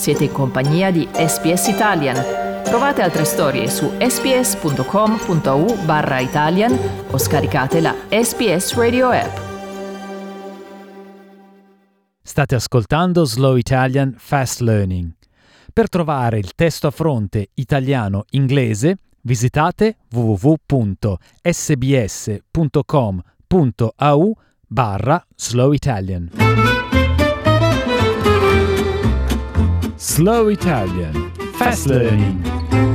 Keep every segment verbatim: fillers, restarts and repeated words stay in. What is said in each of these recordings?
Siete in compagnia di S B S Italian. Trovate altre storie su sbs.com.au barra Italian o scaricate la S B S Radio app. State ascoltando Slow Italian Fast Learning. Per trovare il testo a fronte italiano-inglese visitate w w w punto s b s punto com punto a u barra Slow Italian. Slow Italian Fast Learning.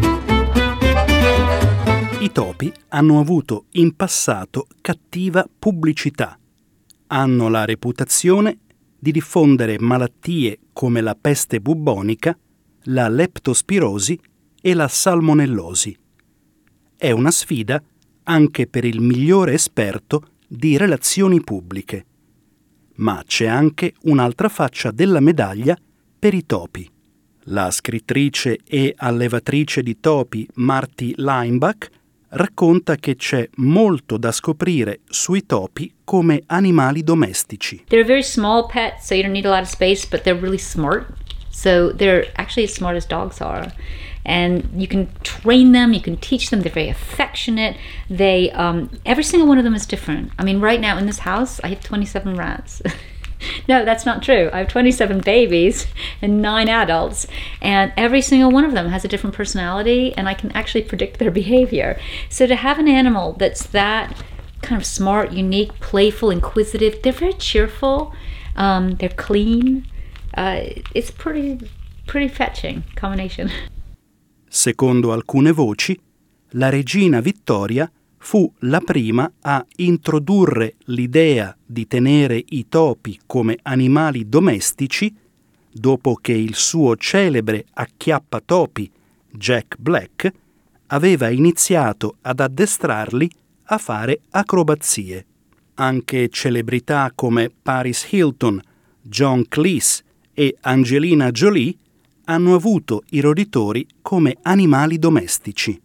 I topi hanno avuto in passato cattiva pubblicità. Hanno la reputazione di diffondere malattie come la peste bubbonica, la leptospirosi e la salmonellosi. È una sfida anche per il migliore esperto di relazioni pubbliche. Ma c'è anche un'altra faccia della medaglia per i topi. La scrittrice e allevatrice di topi Marty Leimbach racconta che c'è molto da scoprire sui topi come animali domestici. They're very small pets, so you don't need a lot of space, but they're really smart. So they're actually as smart as dogs are. And you can train them, you can teach them, they're very affectionate. They, um, every single one of them is different. I mean, right now in this house, I have twenty-seven rats. No, that's not true. I have twenty-seven babies and nine adults, and every single one of them has a different personality, and I can actually predict their behavior. So to have an animal that's that kind of smart, unique, playful, inquisitive, they're very cheerful, um, they're clean. Uh, it's pretty, pretty fetching combination. Secondo alcune voci, la regina Vittoria fu la prima a introdurre l'idea di tenere i topi come animali domestici dopo che il suo celebre acchiappatopi Jack Black aveva iniziato ad addestrarli a fare acrobazie. Anche celebrità come Paris Hilton, John Cleese e Angelina Jolie hanno avuto i roditori come animali domestici.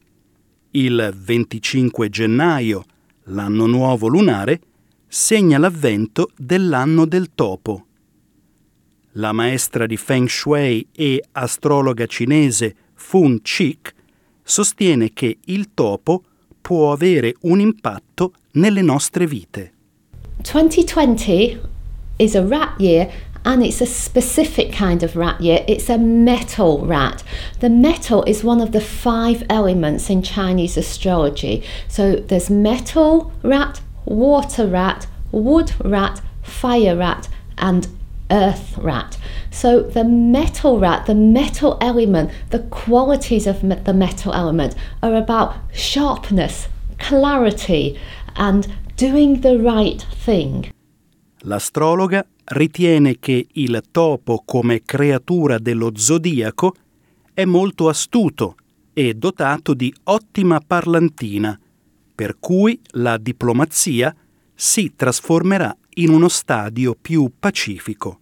Il venticinque gennaio, l'anno nuovo lunare, segna l'avvento dell'anno del topo. La maestra di Feng Shui e astrologa cinese Fun Chick sostiene che il topo può avere un impatto nelle nostre vite. twenty twenty is a rat year, and it's a specific kind of rat year. It's a metal rat. The metal is one of the five elements in Chinese astrology. So there's metal rat, water rat, wood rat, fire rat, and earth rat. So the metal rat, the metal element, the qualities of me- the metal element are about sharpness, clarity, and doing the right thing. L'astrologa ritiene che il topo come creatura dello zodiaco è molto astuto e dotato di ottima parlantina, per cui la diplomazia si trasformerà in uno stadio più pacifico.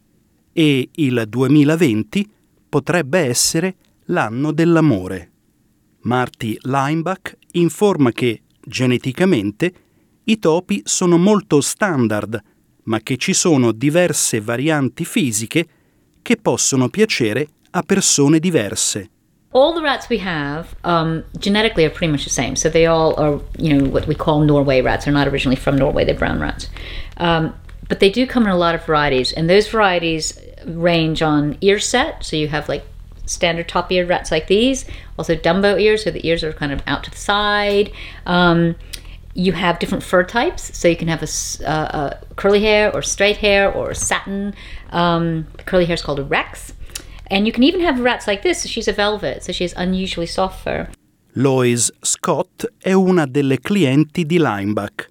E il duemilaventi potrebbe essere l'anno dell'amore. Marty Leimbach informa che, geneticamente, i topi sono molto standard, ma che ci sono diverse varianti fisiche che possono piacere a persone diverse. All the rats we have um, genetically are pretty much the same. So they all are, you know, what we call Norway rats. They're not originally from Norway, they're brown rats. Um, but they do come in a lot of varieties, and those varieties range on ear set. So you have like standard top-eared rats like these, also Dumbo ears, so the ears are kind of out to the side. Um, You have different fur types, so you can have a, uh, a curly hair or straight hair or satin. Um, the curly hair is called a Rex. And you can even have rats like this. She's a velvet, so she has unusually soft fur. Lois Scott è una delle clienti di Leimbach.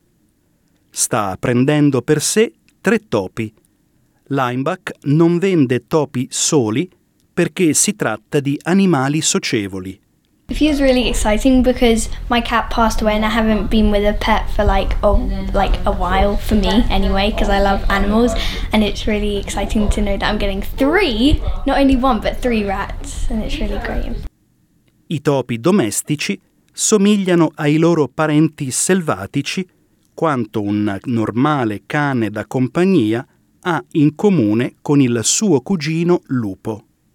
Sta prendendo per sé tre topi. Leimbach non vende topi soli perché si tratta di animali socievoli. It feels really exciting because my cat passed away and I haven't been with a pet for like a, like a while, for me anyway, because I love animals, and it's really exciting to know that I'm getting three, not only one but three rats, and it's really great. I topi domestici somigliano ai loro parenti selvatici quanto un normale cane da compagnia ha in comune con il suo cugino lupo.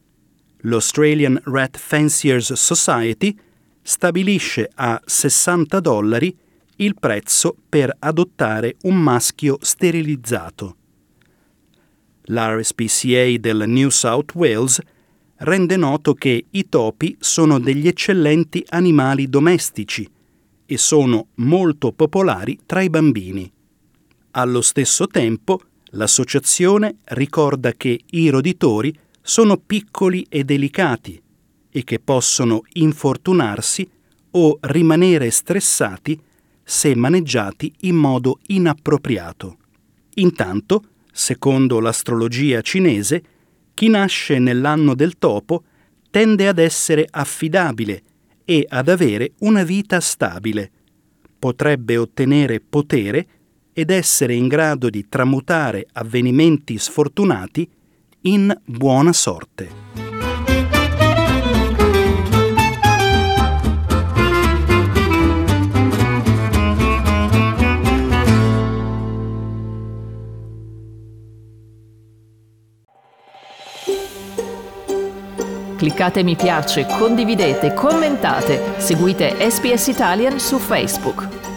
L'Australian Rat Fanciers Society stabilisce a sessanta dollari il prezzo per adottare un maschio sterilizzato. L'R S P C A del New South Wales rende noto che i topi sono degli eccellenti animali domestici e sono molto popolari tra i bambini. Allo stesso tempo, l'associazione ricorda che i roditori sono piccoli e delicati e che possono infortunarsi o rimanere stressati se maneggiati in modo inappropriato. Intanto, secondo l'astrologia cinese, chi nasce nell'anno del topo tende ad essere affidabile e ad avere una vita stabile. Potrebbe ottenere potere ed essere in grado di tramutare avvenimenti sfortunati in buona sorte. Cliccate mi piace, condividete, commentate, seguite S B S Italian su Facebook.